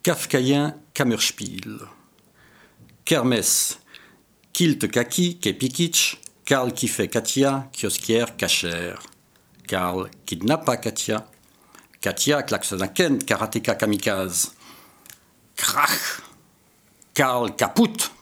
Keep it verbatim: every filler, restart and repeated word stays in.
Kafkaïen Kammerspiel. Kermesse. Kilt kaki, kepikitch. Karl qui fait Katia, kiosquière cachère. Karl kidnappa Katia. Katia klaxonaken, karatéka kamikaze. Krach. Karl kaput.